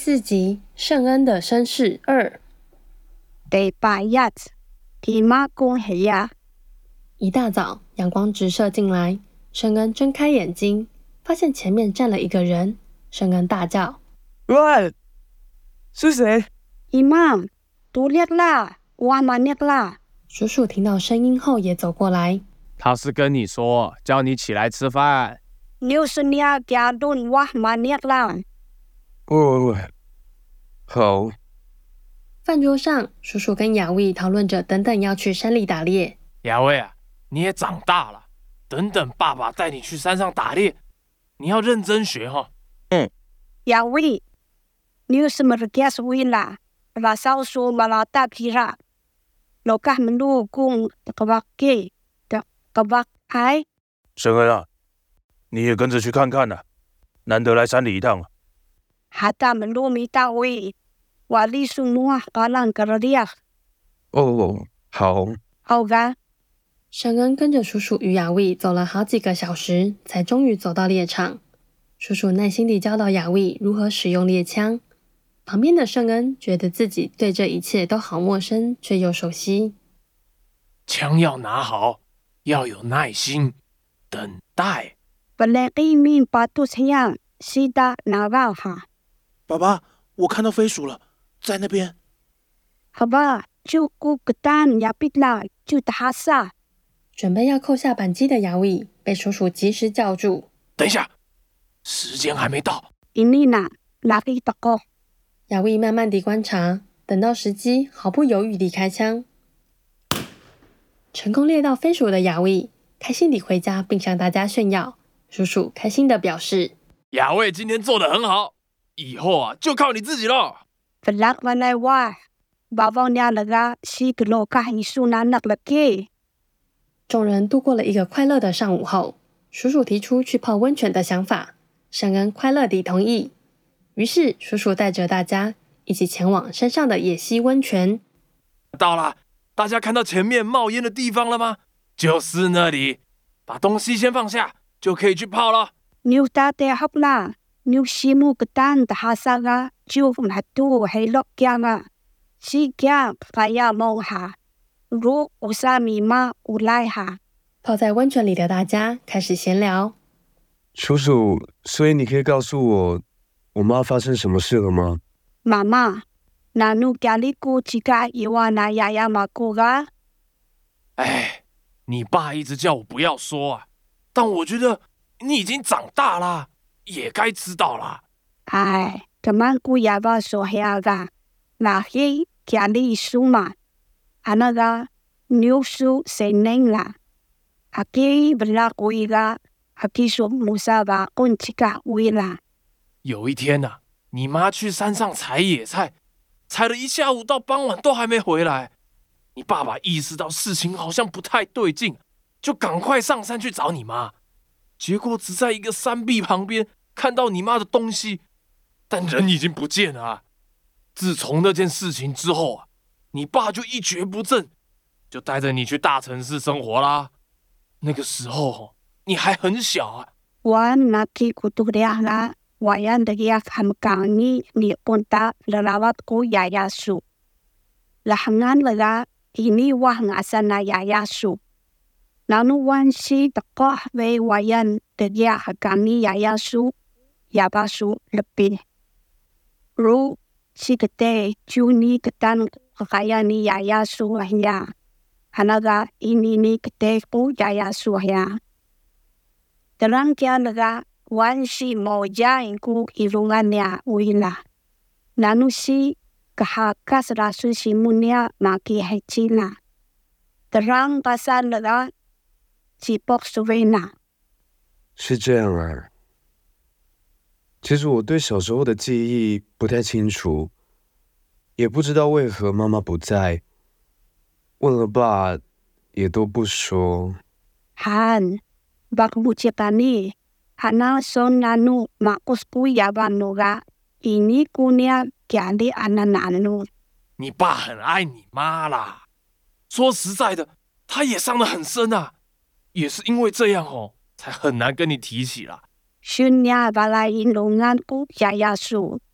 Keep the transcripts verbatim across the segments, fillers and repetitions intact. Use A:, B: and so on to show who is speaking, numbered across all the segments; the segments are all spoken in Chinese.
A: 四集聖恩的身世二。
B: 第八日，姨媽講起呀。
A: 一大早，陽光直射進來，聖恩睜開眼睛，發現前面站了一個人。聖恩大叫：“
C: 喂，是誰？”
B: 姨媽，都叻啦，我媽叻啦。
A: 叔叔聽到聲音後也走過來。
C: 他是跟你說，叫你起來吃飯。
B: 你是你家頓我媽叻啦。
C: 哦，好。
A: 飯桌上，叔叔跟亞衛討論着，等等要去山裡打獵。
D: 亞衛啊，你也長大了，等等爸爸帶你去山上打獵，你要認真學哈。
C: 嗯。
B: 亞衛，你有什麼的解釋為啦？拉少說馬拉大皮啦，老家們路公的個巴給的個巴嗨。
E: 聖恩啊，你也跟着去看看啊，難得來山裡一趟。
B: 哈達們路沒到位，瓦里蘇諾阿蘭格拉利亞。
C: 哦，好。
B: 好噶。
A: 聖恩跟着叔叔與亞衛走了好幾個小時，才終於走到獵場。叔叔耐心地教導亞衛如何使用獵槍。旁邊的聖恩覺得自己對這一切都好陌生，卻又熟悉。
D: 槍要拿好，要有耐心，等待。
B: 本來一面把肚子癢，是的，拿到哈。
F: 爸爸，我看到飛鼠了，在那邊。
B: 好吧，就顧個蛋也別了，就打殺。
A: 準備要扣下扳機的亞衛被叔叔及時叫住。
D: 等一下，時間還沒到。
B: 伊妮娜，哪裡的歌？
A: 亞衛慢慢地觀察，等到時機，毫不猶豫地開槍。成功獵到飛鼠的亞衛開心地回家，並向大家炫耀。叔叔開心地表示：“
D: 亞衛今天做得很好，以後啊就靠你自己了。”
B: 弗拉瓦奈瓦，爸爸娘那個西格羅卡伊蘇南那了給。
A: 眾人度過了一個快樂的上午後，叔叔提出去泡溫泉的想法，聖恩快樂地同意。於是，叔叔帶着大家一起前往山上的野溪溫泉。
D: 到了，大家看到前面冒煙的地方了嗎？就是那裡。把東西先放下，就可以去泡了。
B: 牛大爹好啦，牛西木個蛋的哈薩個就來度黑落江啊，西江還要摸下，如烏沙米媽烏來哈。
A: 泡在溫泉裡的大家開始閒聊。
C: 叔叔，所以你可以告訴我，我媽發生什麼事了嗎？
B: 媽媽，那努家裡姑幾個伊瓦那丫丫嘛姑個？
D: 哎，你爸一直叫我不要說啊，但我覺得你已經長大了，也該知道了。
B: 哎，咁樣姑也把說下個，那些家裡書嘛，啊那個牛書誰能啦？啊給不拉姑一個，啊給說木沙巴公幾個為啦。
D: 有一天啊，你媽去山上採野菜，採了一下午到傍晚都還沒回來。你爸爸意識到事情好像不太對勁，就趕快上山去找你媽。結果只在一個山壁旁邊看到你媽的東西，但人已經不見了啊。自從那件事情之後啊，你爸就一蹶不振，就帶着你去大城市生活啦。那個時候你還很小啊。
B: 我那給姑都倆啦。我要的呀，他們講你你問他了拉瓦姑丫丫樹，了很安了個，伊你我很阿三那丫丫樹，那努關係的個為我要的呀，和講你丫丫樹，啞巴樹了邊，如是個的就你個單和還要你丫丫樹呀，還那個伊你你個的姑丫丫樹呀，的人家那個。關係冇jain ku irungannya wila. Nanu si kahakas rasu si munia maki hecina. Terang pasal lega si pok suvena.
C: 是這樣啊。其實我對小時候的記憶不太清楚，也不知道為何媽媽不在，問了爸也都不說。
B: Han, bak bucetani. Hana son nanu makus kuya banuga ini kunia kiali anananu。
D: 你爸很愛你媽啦。說實在的，他也傷得很深啊，也是因為這樣哦，才很難跟你提起啦。
B: Shunya balai indungan ku yaya su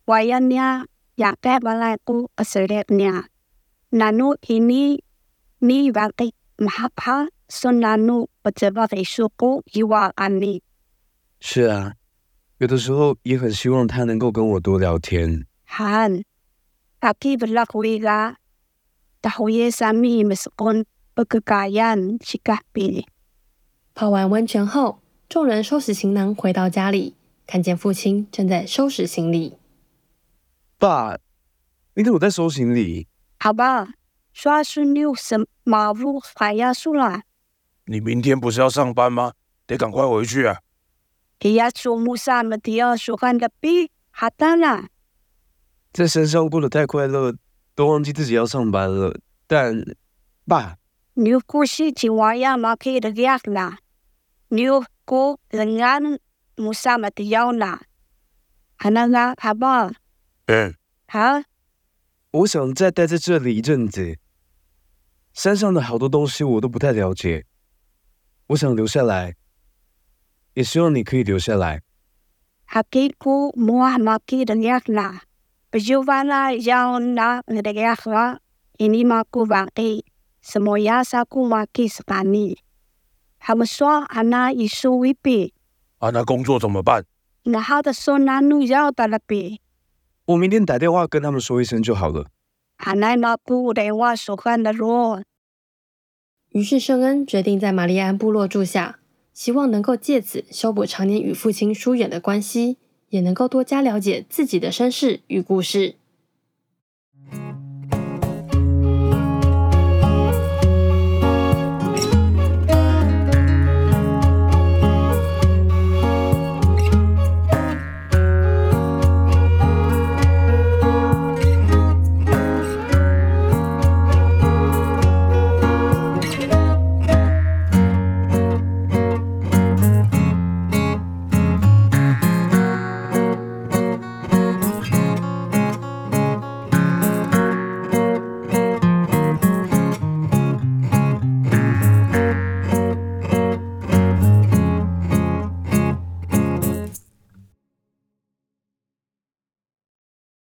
B: wayannya yakeh balaku keseretnya. Nanu ini ni wakik mahapha sonanu pejabat isuku iwa ani.
C: 是啊，有的时候也很希望他能够跟我多聊天。
B: Han, kaki berlakuiga tahuye sami meskon pegagayan sikapi.
A: 泡完溫泉後，眾人收拾行囊回到家裡，看見父親正在收拾行李。
C: 爸，你怎麼在收行李？
B: Aba, suasunu semavu kaya sula.
E: 你明天不是要上班嗎？得趕快回去啊！
B: Ia sumusa media sukan lepi hatana.
C: 在山上過得太快樂，都忘記自己要上班了。但，爸，
B: New kursi jiwaya maki regiakna. New ko dengan musa media na. Hananga aba.
E: 嗯，
B: Ha?
C: 我想再待在這裡一陣子。山上的好多東西我都不太了解，我想留下來，也希望你可以留下來。
B: Hakiku muah maki regiakna. Pejuvala yang na regiakna. Ini maku baki. Semoya saku maki sekani. Hamaswa ana isu wipi.
E: 啊，那工作怎麼辦？
B: Nahada sonanu yao talapi.
C: 我明天打電話跟他們說一聲就好了。
B: Anai maku rewa sukan ro.
A: 於是聖恩決定在瑪麗安部落住下，希望能夠借此修補常年與父親疏遠的關係，也能夠多加了解自己的身世與故事。